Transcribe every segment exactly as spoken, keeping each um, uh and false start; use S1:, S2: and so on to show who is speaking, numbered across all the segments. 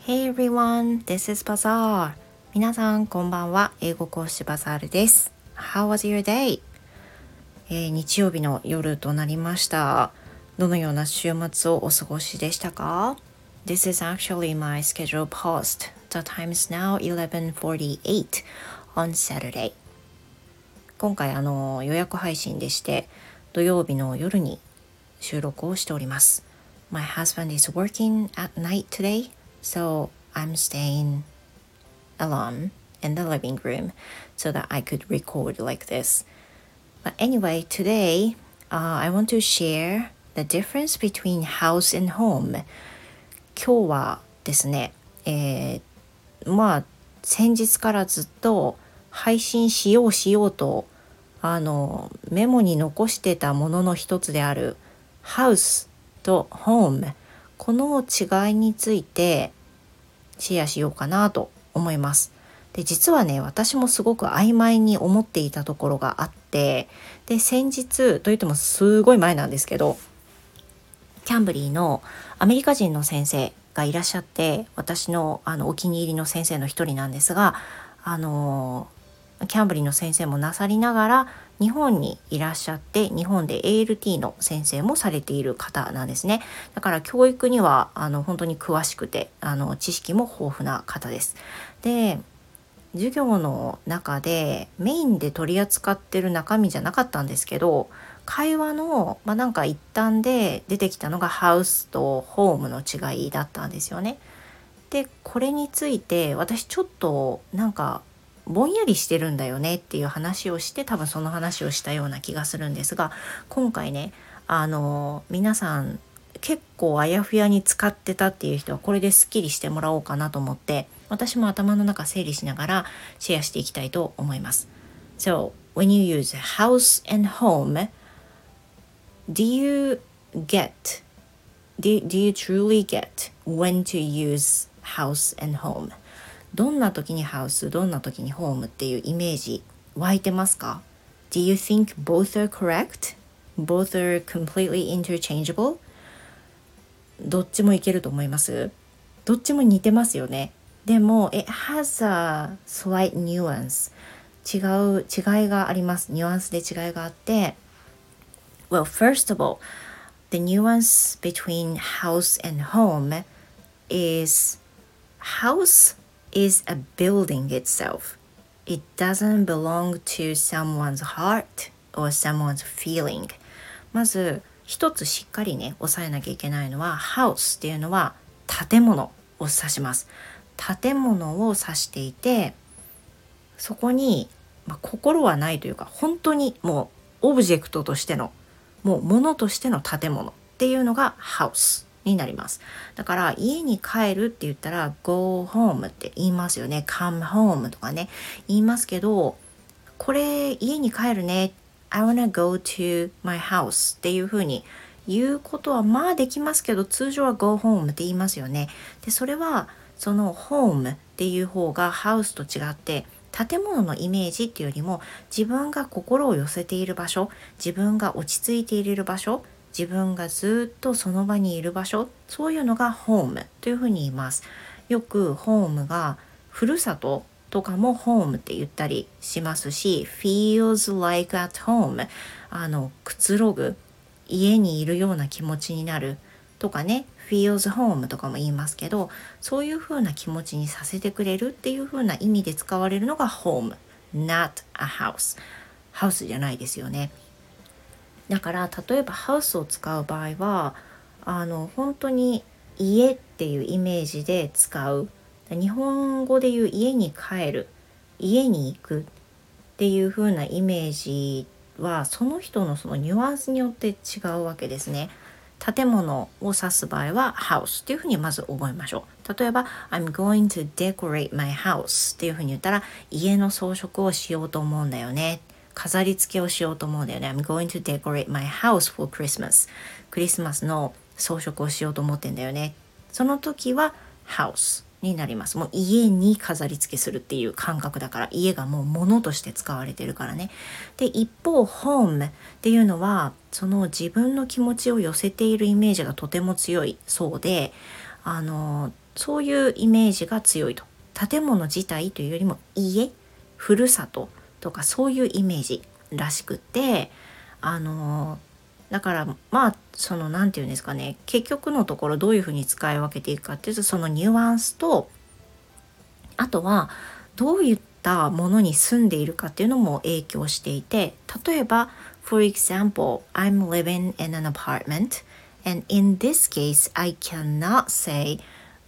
S1: Hey everyone, this is Bazaar. 皆さんこんばんは。英語講師バザールです。How was your day? えー、日曜日の夜となりました。どのような週末をお過ごしでしたか？ This is actually my scheduled post. The time is now eleven forty-eight on Saturday. 今回あの予約配信でして土曜日の夜に収録をしております。My husband is working at night today.So I'm staying alone in the living room so that I could record like this. But anyway, today uh, I want to share the difference between house and home. 今日はですね、えー、まあ先日からずっと配信しようしようとあのメモに残してたものの一つである house と home、 この違いについてシェアしようかなと思います。で、実はね、私もすごく曖昧に思っていたところがあって、で、先日といってもすごい前なんですけど、キャンブリーのアメリカ人の先生がいらっしゃって、私のあのお気に入りの先生の一人なんですが、あのキャンブリーの先生もなさりながら日本にいらっしゃって、日本で エーエルティー の先生もされている方なんですね。だから教育にはあの本当に詳しくて、あの知識も豊富な方です。で、授業の中でメインで取り扱ってる中身じゃなかったんですけど、会話の、まあ、なんか一端で出てきたのがハウスとホームの違いだったんですよね。で、これについて私ちょっとなんかぼんやりしてるんだよねっていう話をして、多分その話をしたような気がするんですが、今回ね、あの皆さん結構あやふやに使ってたっていう人はこれですっきりしてもらおうかなと思って、私も頭の中整理しながらシェアしていきたいと思います。 So, when you use house and home, do you get do, do you truly get when to use house and home?どんな時にハウス、どんな時にホームっていうイメージ湧いてますか？ Do you think both are correct? Both are completely interchangeable? どっちもいけると思います？どっちも似てますよね。でも It has a slight nuance. 違う違いがあります。ニュアンスで違いがあって、 Well, first of all, the nuance between house and home is house is a building itself. It doesn't belong to someone's heart or someone's feeling. まず一つしっかりね押さえなきゃいけないのは、 house っていうのは建物を指します。建物を指していて、そこに、まあ、心はないというか、本当にもうオブジェクトとしての、もう物としての建物っていうのが houseになります。だから家に帰るって言ったら go home って言いますよね。come home とかね言いますけど、これ家に帰るね、 I wanna go to my house っていう風に言うことはまあできますけど、通常は go home って言いますよね。で、それはその home っていう方が house と違って、建物のイメージっていうよりも自分が心を寄せている場所、自分が落ち着いている場所、自分がずっとその場にいる場所、そういうのがホームというふうに言います。よくホームがふるさととかもホームって言ったりしますし、 feels like at home、 あのくつろぐ、家にいるような気持ちになるとかね、 feels home とかも言いますけど、そういうふうな気持ちにさせてくれるっていうふうな意味で使われるのが home, not a house。 ハウスじゃないですよね。だから例えばハウスを使う場合は、あの本当に家っていうイメージで使う。日本語で言う家に帰る、家に行くっていう風なイメージは、その人のそのニュアンスによって違うわけですね。建物を指す場合は house っていう風にまず覚えましょう。例えば I'm going to decorate my house っていう風に言ったら、家の装飾をしようと思うんだよね、飾り付けをしようと思うんだよね。 I'm going to decorate my house for Christmas。 クリスマスの装飾をしようと思ってんだよね。その時は house になります。もう家に飾り付けするっていう感覚だから、家がもう物として使われてるからね。で、一方 home っていうのはその自分の気持ちを寄せているイメージがとても強いそうで、あのそういうイメージが強いと。建物自体というよりも家、ふるさととかそういうイメージらしくって、あのだからまあそのなんていうんですかね、結局のところどういうふうに使い分けていくかっていうと、そのニュアンスと、あとはどういったものに住んでいるかっていうのも影響していて、例えば For example, I'm living in an apartment and in this case I cannot say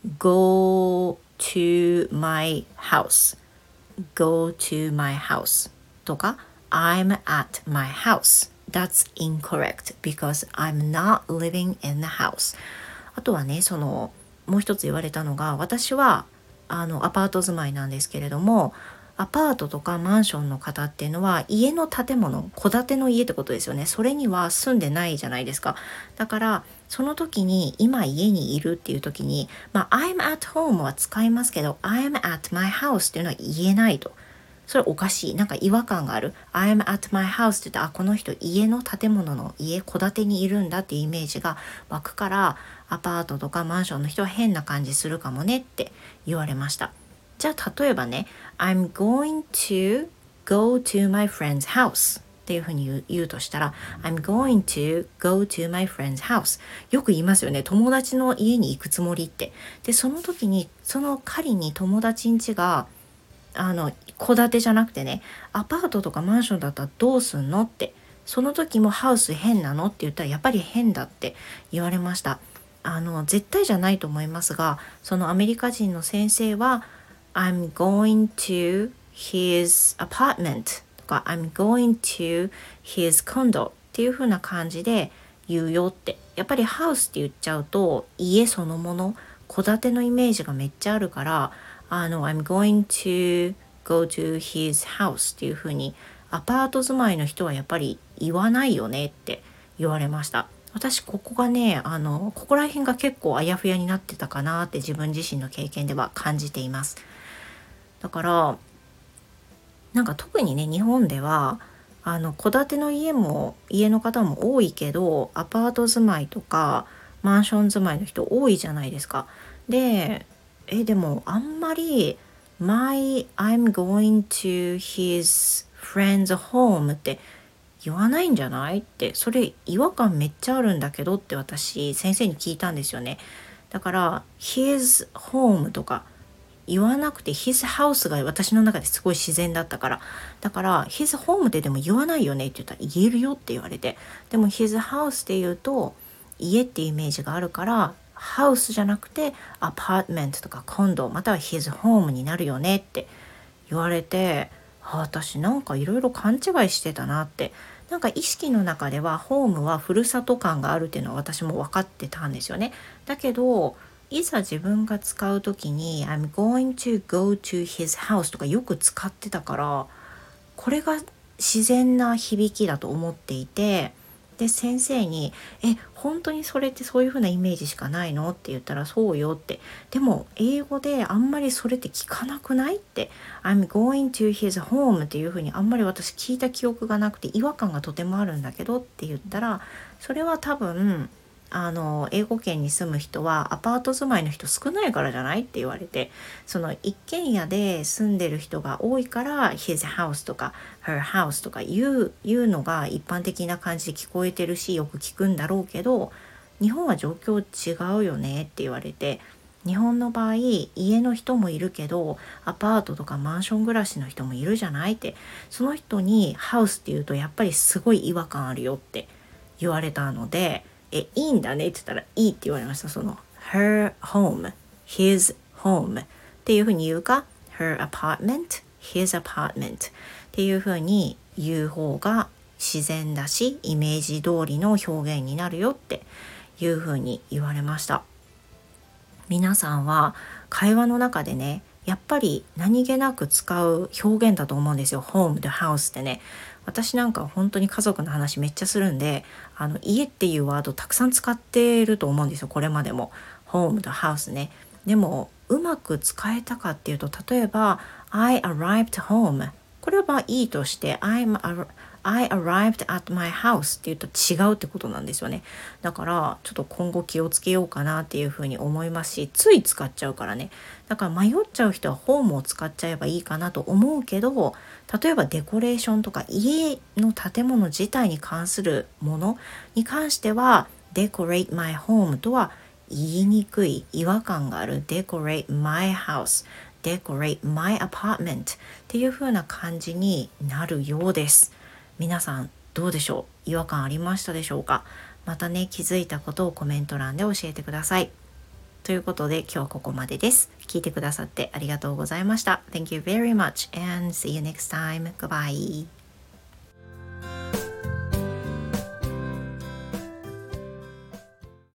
S1: go to my house go to my house とか I'm at my house. That's incorrect because I'm not living in the house. あとはね、そのもう一つ言われたのが、私はあのアパート住まいなんですけれども、アパートとかマンションの方っていうのは家の建物、戸建ての家ってことですよね。それには住んでないじゃないですか。だからその時に今家にいるっていう時に、まあ I'm at home は使いますけど I'm at my house っていうのは言えないと。それおかしい。なんか違和感がある。I'm at my house って言ったら、あ、この人家の建物の家、戸建てにいるんだっていうイメージが湧くから、アパートとかマンションの人は変な感じするかもねって言われました。じゃあ例えばね、I'm going to go to my friend's house っていうふうに言う、言うとしたら I'm going to go to my friend's house。 よく言いますよね、友達の家に行くつもりって。でその時に、その仮に友達ん家があの戸建てじゃなくてね、アパートとかマンションだったらどうすんのって、その時もハウス変なのって言ったら、やっぱり変だって言われました。あの絶対じゃないと思いますが、そのアメリカ人の先生は I'm going to his apartment とか I'm going to his condo っていう風な感じで言うよって。やっぱりハウスって言っちゃうと家そのもの、戸建てのイメージがめっちゃあるから、あの I'm going to go to his house っていう風にアパート住まいの人はやっぱり言わないよねって言われました。私ここがね、あのここら辺が結構あやふやになってたかなって自分自身の経験では感じています。だからなんか特にね、日本ではあの戸建ての家も家の方も多いけど、アパート住まいとかマンション住まいの人多いじゃないですか。でえでもあんまり My I'm going to his friend's home って言わないんじゃないって、それ違和感めっちゃあるんだけどって私先生に聞いたんですよね。だから his home とか言わなくて his house が私の中ですごい自然だったから、だから his home ってでも言わないよねって言ったら、言えるよって言われて、でも his house って言うと家ってイメージがあるから、ハウスじゃなくてアパートメントとかコンドまたは his home になるよねって言われて、あ、私なんかいろいろ勘違いしてたなって。なんか意識の中ではホームはふるさと感があるっていうのは私も分かってたんですよね。だけどいざ自分が使う時に I'm going to go to his house とかよく使ってたから、これが自然な響きだと思っていて、で先生にえ本当にそれってそういう風なイメージしかないのって言ったら、そうよって。でも英語であんまりそれって聞かなくないって、 I'm going to his home っていう風にあんまり私聞いた記憶がなくて違和感がとてもあるんだけどって言ったら、それは多分あの英語圏に住む人はアパート住まいの人少ないからじゃないって言われて、その一軒家で住んでる人が多いから his house とか her house とか言う、言うのが一般的な感じで聞こえてるしよく聞くんだろうけど、日本は状況違うよねって言われて、日本の場合家の人もいるけどアパートとかマンション暮らしの人もいるじゃないって、その人にハウスって言うとやっぱりすごい違和感あるよって言われたので、えいいんだねって言ったらいいって言われました。その her home his home っていう風に言うか her apartment his apartment っていう風に言う方が自然だしイメージ通りの表現になるよっていう風に言われました。皆さんは会話の中でね、やっぱり何気なく使う表現だと思うんですよ。ホームとハウスってね。私なんか本当に家族の話めっちゃするんで、あの家っていうワードたくさん使ってると思うんですよ。これまでもホームとハウスね。でもうまく使えたかっていうと、例えば I arrived home、 これはまあいいとして I'm I arrived at my house って言うと違うってことなんですよね。だからちょっと今後気をつけようかなっていうふうに思いますし、つい使っちゃうからね。だから迷っちゃう人はホームを使っちゃえばいいかなと思うけど、例えばデコレーションとか家の建物自体に関するものに関しては decorate my home とは言いにくい、違和感がある decorate my house decorate my apartment っていう風な感じになるようです。皆さんどうでしょう？違和感ありましたでしょうか？またね、気づいたことをコメント欄で教えてください。ということで今日はここまでです。聞いてくださってありがとうございました。Thank you very much and see you next time. Goodbye.